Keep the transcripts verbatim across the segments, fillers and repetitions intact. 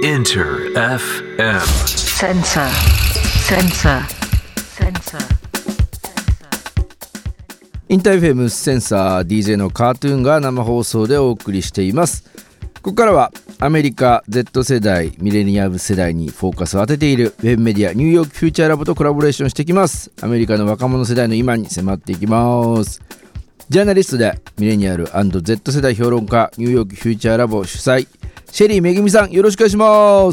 Inter エフエム Sensor Sensor Sensor インター エフエム センサー ディージェー のカートゥーンが生放送でお送りしています。ここからはアメリカ Z 世代ミレニアム世代にフォーカスを当てているウェブメディアニューヨークフューチャーラボとコラボレーションしていきます。アメリカの若者世代の今に迫っていきます。ジャーナリストでミレニアル &Z 世代評論家ニューヨークフューチャーラボ主催シェリーめぐみさん、よろしくお願いします。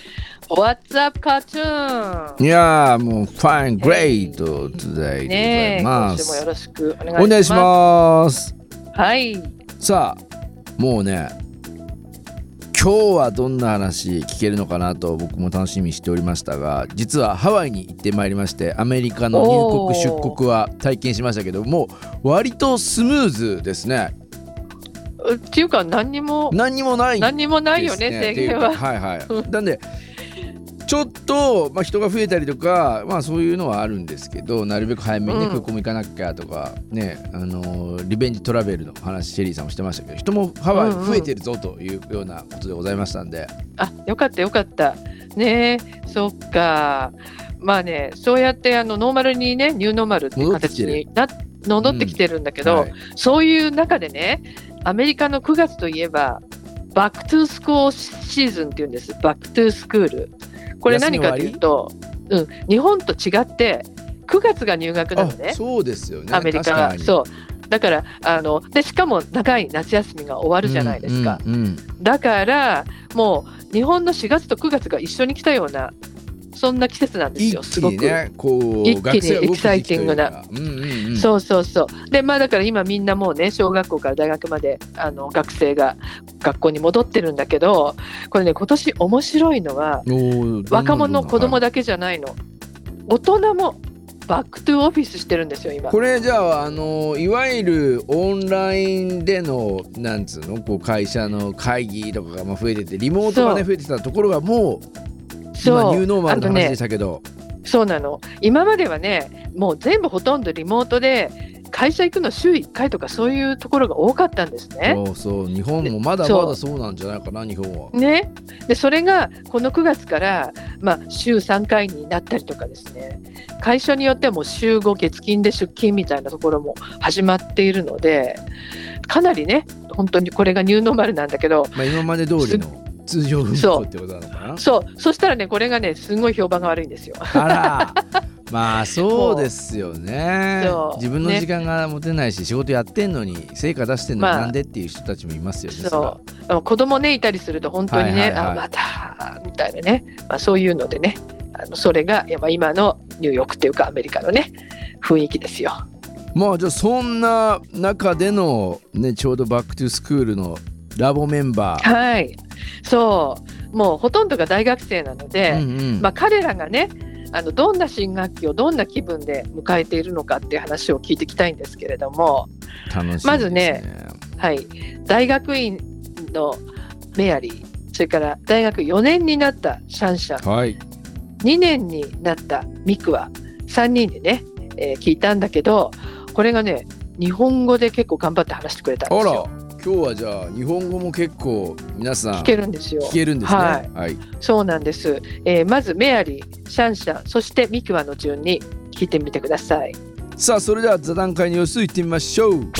What's up, cartoon? いやーもう Fine Great today でございます。 今週もよろしくお願いします。 お願いします。 はい。 さあもうね今日はどんな話聞けるのかなと僕も楽しみにしておりましたが、実はハワイに行ってまいりまして、アメリカの入国出国は体験しましたけども、割とスムーズですね。 っていうか何にも何にもないですね。 何にもないよね、制限は。 はいはいなんでちょっと、まあ、人が増えたりとか、まあ、そういうのはあるんですけど、なるべく早めにね、空港も行かなきゃとか、ね、あのー、リベンジトラベルの話シェリーさんもしてましたけど、人もハワイ増えてるぞというようなことでございましたんで、うんうん、 あ、よかったよかったね。そっか。まあね、そうやってあのノーマルにね、ニューノーマルっていう形にな戻ってきてるんだけど、うんはい、そういう中でね、アメリカのくがつといえばバックトゥースクールシーズンっていうんです。バックトゥースクール、これ何かというと、うん、日本と違ってくがつが入学なのね。 そうですよね、 アメリカは。そうだからあのでしかも長い夏休みが終わるじゃないですか、 うんうんうん、 だからもう日本のしがつとくがつが一緒に来たようなそんな季節なんですよ。すごく一気にね、こう一気にエキサイティングな、 うんうんうん、 そうそうそうで、まあだから今みんなもうね、小学校から大学まであの学生が学校に戻ってるんだけど、これね、今年面白いのは若者子供だけじゃないの、大人もバックトゥーオフィスしてるんですよ今。 これじゃあ、あのいわゆるオンラインでのなんつうのこう会社の会議とかがまあ増えてて、リモートがね増えてたところがもう今ニューノーマルの話でしたけど、 ね、そうなの。今まではね、もう全部ほとんどリモートで会社行くの週いっかいとかそういうところが多かったんですね。 そうそう、日本もまだまだそうなんじゃないかな、日本はね。でそれがこのくがつから、まあ、週さんかいになったりとかですね、会社によってはもう週ご月金で出勤みたいなところも始まっているので、かなりね、本当にこれがニューノーマルなんだけど、 まあ、今まで通りの通常運行ってことなのかな。 そう、そしたらね、これがね、すごい評判が悪いんですよ。 あらまあそうですよね。自分の時間が持てないし、ね、仕事やってんのに成果出してんのになんでっていう人たちもいますよね。 そう子供ねいたりすると本当にね、はいはいはい、あまたみたいなね、まあ、そういうのでね、あのそれがやっぱ今のニューヨークっていうかアメリカのね雰囲気ですよ。 まあじゃあそんな中での、ね、ちょうどバックトゥースクールのラボメンバー、 はい、そうもうほとんどが大学生なので、うんうんまあ、彼らがねあのどんな新学期をどんな気分で迎えているのかっていう話を聞いていきたいんですけれども、 楽しみですね。 まずね、はい、大学院のメアリー、それから大学よねんになったシャンシャン、 はい、にねんになったミクワ、さんにんでね、えー、聞いたんだけど、これがね日本語で結構頑張って話してくれたんですよ。 あら、今日はじゃあ日本語も結構皆さん聞けるんですよ。 聞けるんですね。 はいはい、 そうなんです、えー、まずメアリー、シャンシャン、そしてミクワの順に聞いてみてください。 さあそれでは座談会の様子いってみましょう。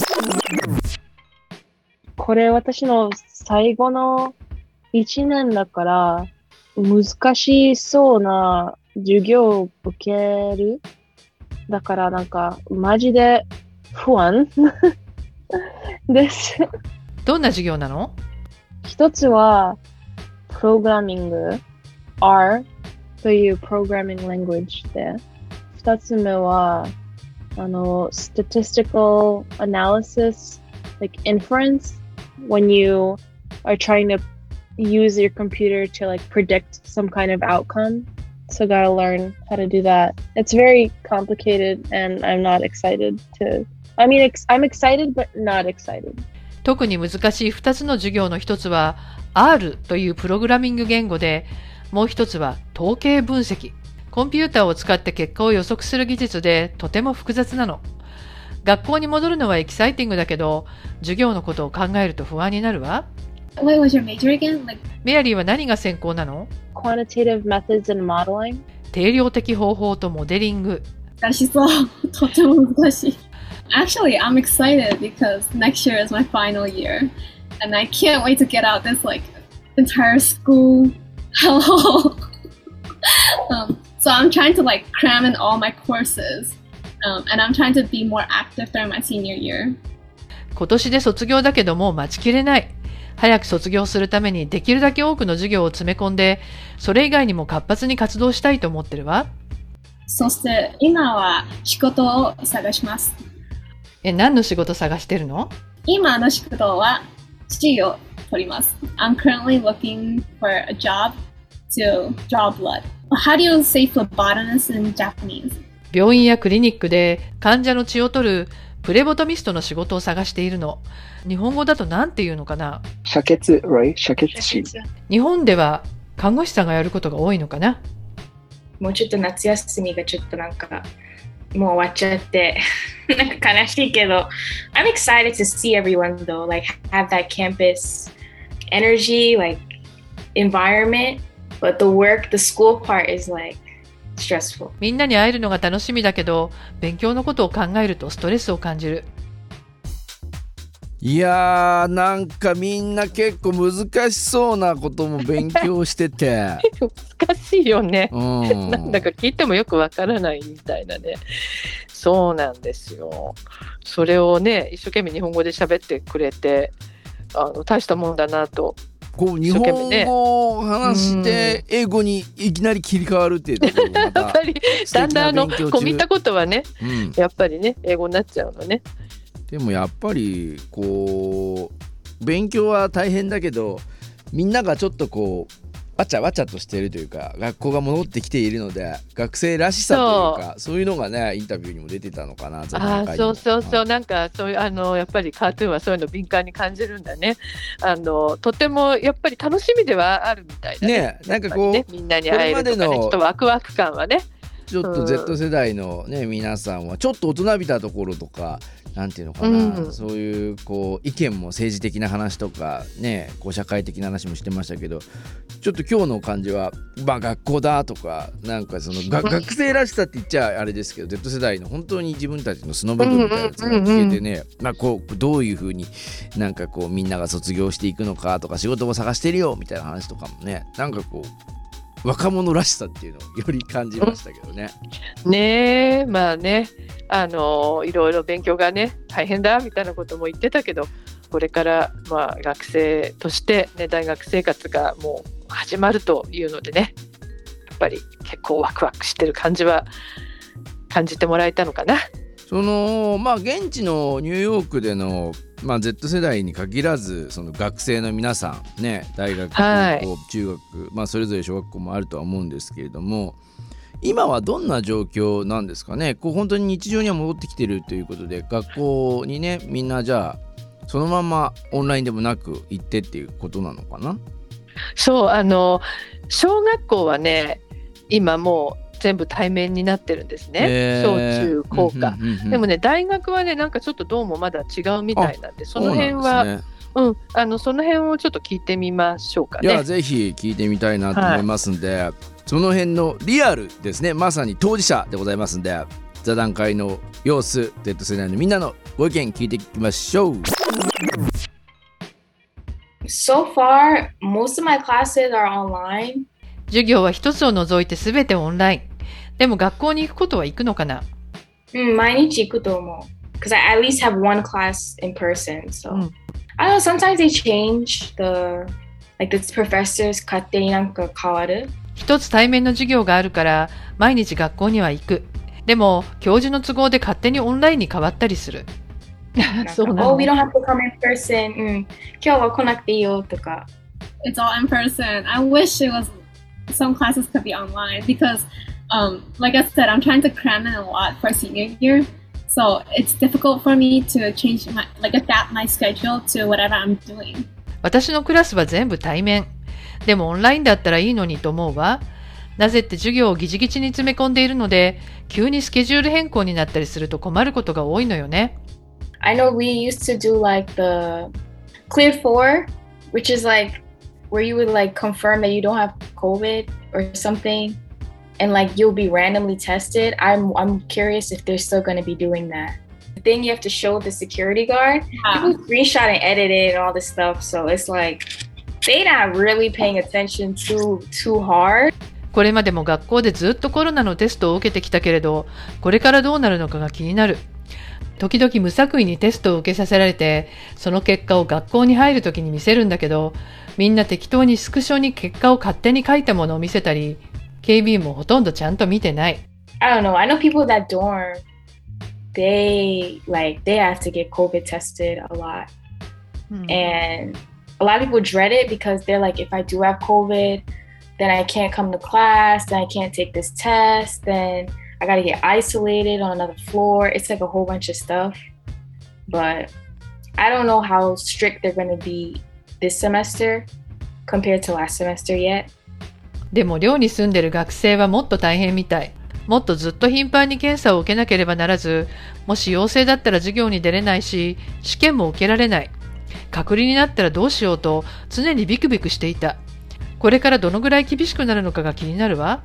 これ私の最後のいちねんだから難しそうな授業を受ける。だからなんかマジで不安です。 どんな授業なの？ 一つはプログラミング R というプログラミング language で、二つ目はあの statistical analysis like inference when you are trying to use your computer to like predict some kind of outcome. So gotta learn how to do that. It's very complicated and I'm not excited to I mean, I'm excited but not excited. 特に難しいふたつの授業の一つは R というプログラミング言語で、もう一つは統計分析。コンピューターを使って結果を予測する技術でとても複雑なの。学校に戻るのはエキサイティングだけど、授業のことを考えると不安になるわ。 What was your major again? Like メアリーは何が専攻なの？ Quantitative methods and modeling. 定量的方法とモデリング。 難しそう。とても難しい。Actually, I'm excited because next year is my final year, and I can't wait to get out this like entire school hellhole. um, so I'm trying to like cram in all my courses, um, and I'm trying to be more active during my senior year. 今年で卒業だけどもう待ちきれない。早く卒業するためにできるだけ多くの授業を詰め込んで、それ以外にも活発に活動したいと思ってるわ。 そして今は仕事を探します。 え、何の仕事探してるの？ 今の仕事は土を取ります。I'm currently looking for a job to draw blood. How do you say phlebotomist in Japanese? 病院やクリニックで患者の血を取るプレボトミストの仕事を探しているの。日本語だと何て言うのかな？ 遮血、right? 遮血師。 日本では看護師さんがやることが多いのかな？ もうちょっと夏休みがちょっとなんかもう終わっちゃってなんか悲しいけど I'm excited to see everyone though, like have that campus energy, like environment, but the work, the school part is like stressful. みんなに会えるのが楽しみだけど勉強のことを考えるとストレスを感じる。 いやーなんかみんな結構難しそうなことも勉強してて難しいよね、 うん、 なんだか聞いてもよくわからないみたいなね。そうなんですよ。それをね一生懸命日本語で喋ってくれてあの大したもんだなと。 こう日本語を話して英語にいきなり切り替わるっていうところがまたやっぱりだんだんあの込み入ったことはね、 うん、 やっぱりね英語になっちゃうのね。 でもやっぱりこう勉強は大変だけどみんながちょっとこうわちゃわちゃとしているというか学校が戻ってきているので学生らしさというかそういうのがねインタビューにも出てたのかな。 ああそうそうそう、なんかそういうあのやっぱりカートゥーンはそういうの敏感に感じるんだね。あのとてもやっぱり楽しみではあるみたいだね。ねなんかこう、 ね、みんなに会えるとかねちょっとワクワク感はね。 ちょっと Z 世代の、ね、皆さんはちょっと大人びたところとかなんていうのかな、うん、そういうこう意見も政治的な話とかねこう社会的な話もしてましたけどちょっと今日の感じは、まあ、学校だとかなんかそのが学生らしさって言っちゃあれですけど Z 世代の本当に自分たちの素の部分みたいなやつが聞けてね、まあ、こうどういう風になんかこうみんなが卒業していくのかとか仕事も探してるよみたいな話とかもねなんかこう若者らしさっていうのをより感じましたけどね。 ねえまあねあのいろいろ勉強がね大変だみたいなことも言ってたけどこれからまあ学生として、ね、大学生活がもう始まるというのでねやっぱり結構ワクワクしてる感じは感じてもらえたのかな。 そのまあ現地のニューヨークでの、まあ、Z 世代に限らずその学生の皆さんね大学、 はい、 高校中学、まあ、それぞれ小学校もあるとは思うんですけれども今はどんな状況なんですかね。こう本当に日常には戻ってきてるということで学校にねみんなじゃあそのままオンラインでもなく行ってっていうことなのかな。 そうあの小学校はね今もう全部対面になってるんですね、えー、小中高か、うんうんうんうん、でもね大学はねなんかちょっとどうもまだ違うみたいなんでその辺はう、ねうん、あのその辺をちょっと聞いてみましょうかね。 いやぜひ聞いてみたいなと思いますんで、はい、その辺のリアルですねまさに当事者でございますんで座談会の様子 Z 世代のみんなのご意見聞いていきましょう。 So far, most of my classes are online. 授業は一つを除いてすべてオンライン。でも学校に行くことは行くのかな？ うん、毎日行くと思う。Because I at least have one class in person. So、うん、I don't know, sometimes they change the, like the professors 勝手になんか変わる。 一つ対面の授業があるから毎日学校には行く。でも教授の都合で勝手にオンラインに変わったりする。 そうなの。Oh, we don't have to come in person. うん、今日は来なくていいよとか。 It's all in person. I wish it was some classes could be online because, um, like I said, I'm trying to cram in a lot for senior year. So it's difficult for me to change my, like adapt my schedule to whatever I'm doing. 私のクラスは全部対面。でもオンラインだったらいいのにと思うわ。なぜって授業をギチギチに詰め込んでいるので、急にスケジュール変更になったりすると困ることが多いのよね。 I know we used to do like the Clear four which is like where you would like confirm that you don't have COVID or something, and like you'll be randomly tested. I'm I'm curious if they're still going to be doing that. The thing you have to show the security guard. Yeah. People screenshot and edit it and all this stuff, so it's like they're not really paying attention too too hard. これまでも学校でずっとコロナのテストを受けてきたけれど、これからどうなるのかが気になる。時々無作為にテストを受けさせられて、その結果を学校に入るときに見せるんだけど、みんな適当にスクショに結果を勝手に書いたものを見せたり、警備員もほとんどちゃんと見てない。 I don't know. I know people that dorm, they like they have to get COVID tested a lot, and a lot of people dread it because they're like, if I do have COVID, then I can't come to class, then I can't take this test, then I gotta get isolated on another floor. It's like a whole bunch of stuff. But I don't know how strict they're gonna be this semester compared to last semester yet. でも寮に住んでる学生はもっと大変みたい。もっとずっと頻繁に検査を受けなければならず、もし陽性だったら授業に出れないし、試験も受けられない。隔離になったらどうしようと常にビクビクしていた。これからどのぐらい厳しくなるのかが気になるわ。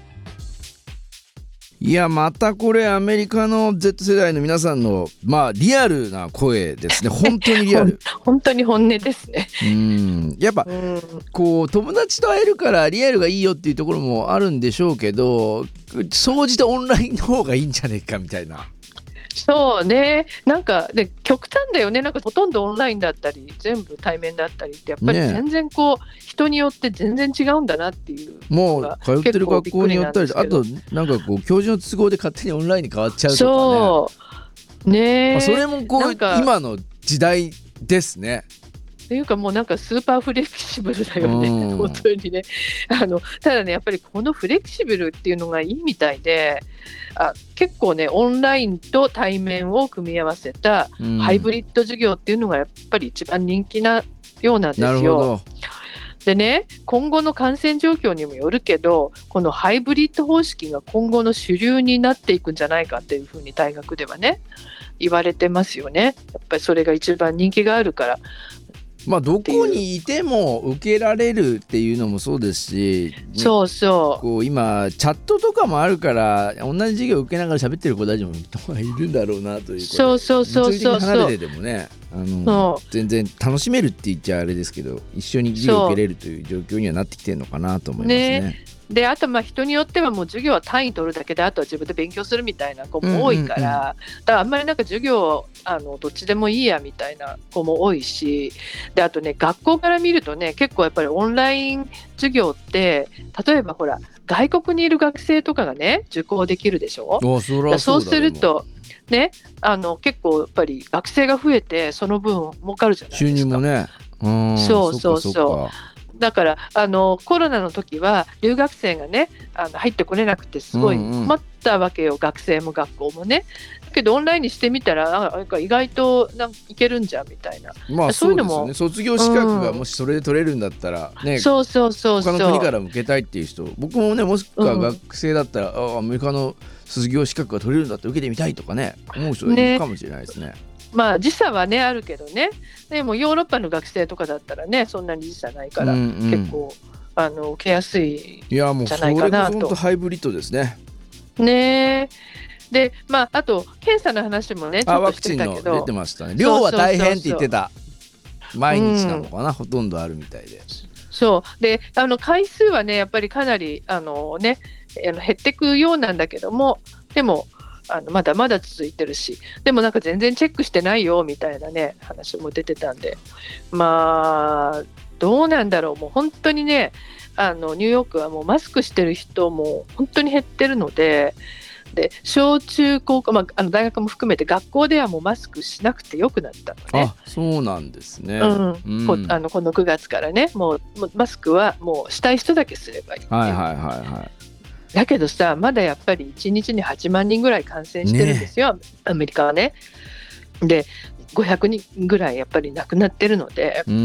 いやまたこれアメリカの Z 世代の皆さんのまあリアルな声ですね。本当にリアル本当に本音ですね。 うんやっぱこう友達と会えるからリアルがいいよっていうところもあるんでしょうけど、総じてオンラインの方がいいんじゃねえかみたいな。 そうね、なんかで極端だよね。なんかほとんどオンラインだったり全部対面だったりってやっぱり全然こう、ね、人によって全然違うんだなっていう。 もう通ってる学校によったり、あとなんかこう教授の都合で勝手にオンラインに変わっちゃうとかね。 そうね、 まあ、それもこう今の時代ですね。 っていうかもうなんかスーパーフレキシブルだよね、うん、本当にね。あのただねやっぱりこのフレキシブルっていうのがいいみたいで、あ結構ねオンラインと対面を組み合わせたハイブリッド授業っていうのがやっぱり一番人気なようなんですよ。なるほど。でね、今後の感染状況にもよるけど、このハイブリッド方式が今後の主流になっていくんじゃないかっていうふうに大学ではね言われてますよね。やっぱりそれが一番人気があるから。 まあどこにいても受けられるっていうのもそうですし、 そうそう。 こう今チャットとかもあるから同じ授業受けながら喋ってる子たちも人がいるんだろうなという。 そうそうそうそう。 物理的に離れてでもね、あの全然楽しめるって言っちゃあれですけど、一緒に授業受けれるという状況にはなってきてるのかなと思いますね。ねであとまあ人によってはもう授業は単位取るだけであとは自分で勉強するみたいな子も多いから、うんうんうん、だからあんまりなんか授業あのどっちでもいいやみたいな子も多いし、であとね学校から見るとね結構やっぱりオンライン授業って例えばほら外国にいる学生とかがね受講できるでしょ。 そそうだそうするとねあの結構やっぱり学生が増えてその分儲かるじゃないですか。 収入もね。うん、 そうそうそう。そだからあのコロナの時は留学生がねあの入ってこれなくてすごい困ったわけよ、うんうん、学生も学校もね。だけどオンラインにしてみたらなんか意外となんかいけるんじゃんみたいな、 まあ、そういうのもそうですよね。卒業資格がもしそれで取れるんだったら、ね、うん、そうそうそうそう他の国から受けたいっていう人、僕もねもしくは学生だったら、うん、あアメリカの卒業資格が取れるんだったら受けてみたいとかね思う人がいるかもしれないですね。 まあ時差はねあるけどね、でもヨーロッパの学生とかだったらねそんなに時差ないから、うんうん、結構あの受けやすいんじゃないかなと。いやもうそれこそ本当ハイブリッドですね。 ねでまああと検査の話もねちょっとしてたけど、ワクチンの出てましたね。量は大変って言ってた。毎日なのかな、うん、ほとんどあるみたいで。 そうであの回数はねやっぱりかなりあのねあの減ってくようなんだけども、でもあのまだまだ続いてるし、でもなんか全然チェックしてないよみたいなね話も出てたんで、まあどうなんだろう。もう本当にねあのニューヨークはもうマスクしてる人も本当に減ってるので、で小中高校、まあ、あの大学も含めて学校ではもうマスクしなくてよくなったのね。 あ、そうなんですね、 うんうん、こ, あのこのくがつからねもうマスクはもうしたい人だけすればいいっていう、 はいはいはいはい。 だけどさまだやっぱりいちにちにはちまんにんぐらい感染してるんですよ、ね、アメリカはね。でごひゃくにんぐらいやっぱり亡くなってるので、 うん、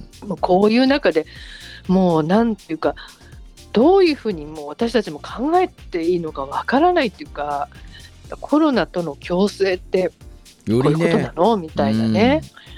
もうこういう中でもうなんていうかどういうふうにもう私たちも考えていいのかわからないっていうか、コロナとの共生ってこういうことなの、ね、みたいなね、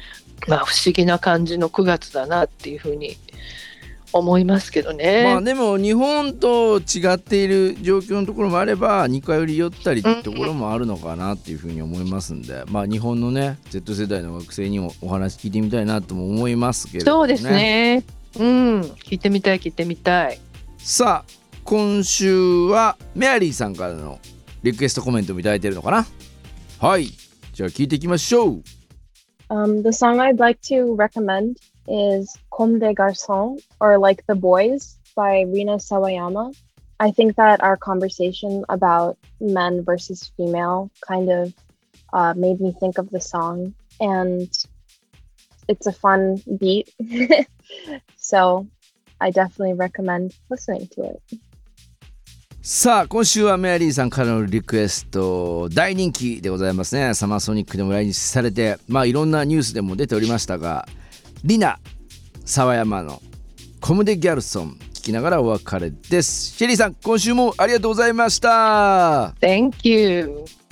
まあ不思議な感じのくがつだなっていうふうに思いますけどね。 まあでも日本と違っている状況のところもあれば似通り寄ったりってところもあるのかなっていうふうに思いますんで、まあ日本のね Z 世代の学生にもお話聞いてみたいなとも思いますけれどもね。 そうですね。うん、聞いてみたい聞いてみたい。 さあ今週はメアリーさんからのリクエストコメントもいただいてるのかな。はい、じゃあ聞いていきましょう。 Um, the song I'd like to recommend is Comme des Garçons, or Like the Boys by Rina Sawayama. I think that our conversation about men versus female kind of uh, made me think of the song, and it's a fun beat. So I definitely recommend listening to it. さあ今週はメアリーさんからのリクエスト大人気でございますね。サマーソニックでも来日されて、まあいろんなニュースでも出ておりましたが、リナ沢山のコムデギャルソン聞きながらお別れです。シェリーさん今週もありがとうございました。 Thank you.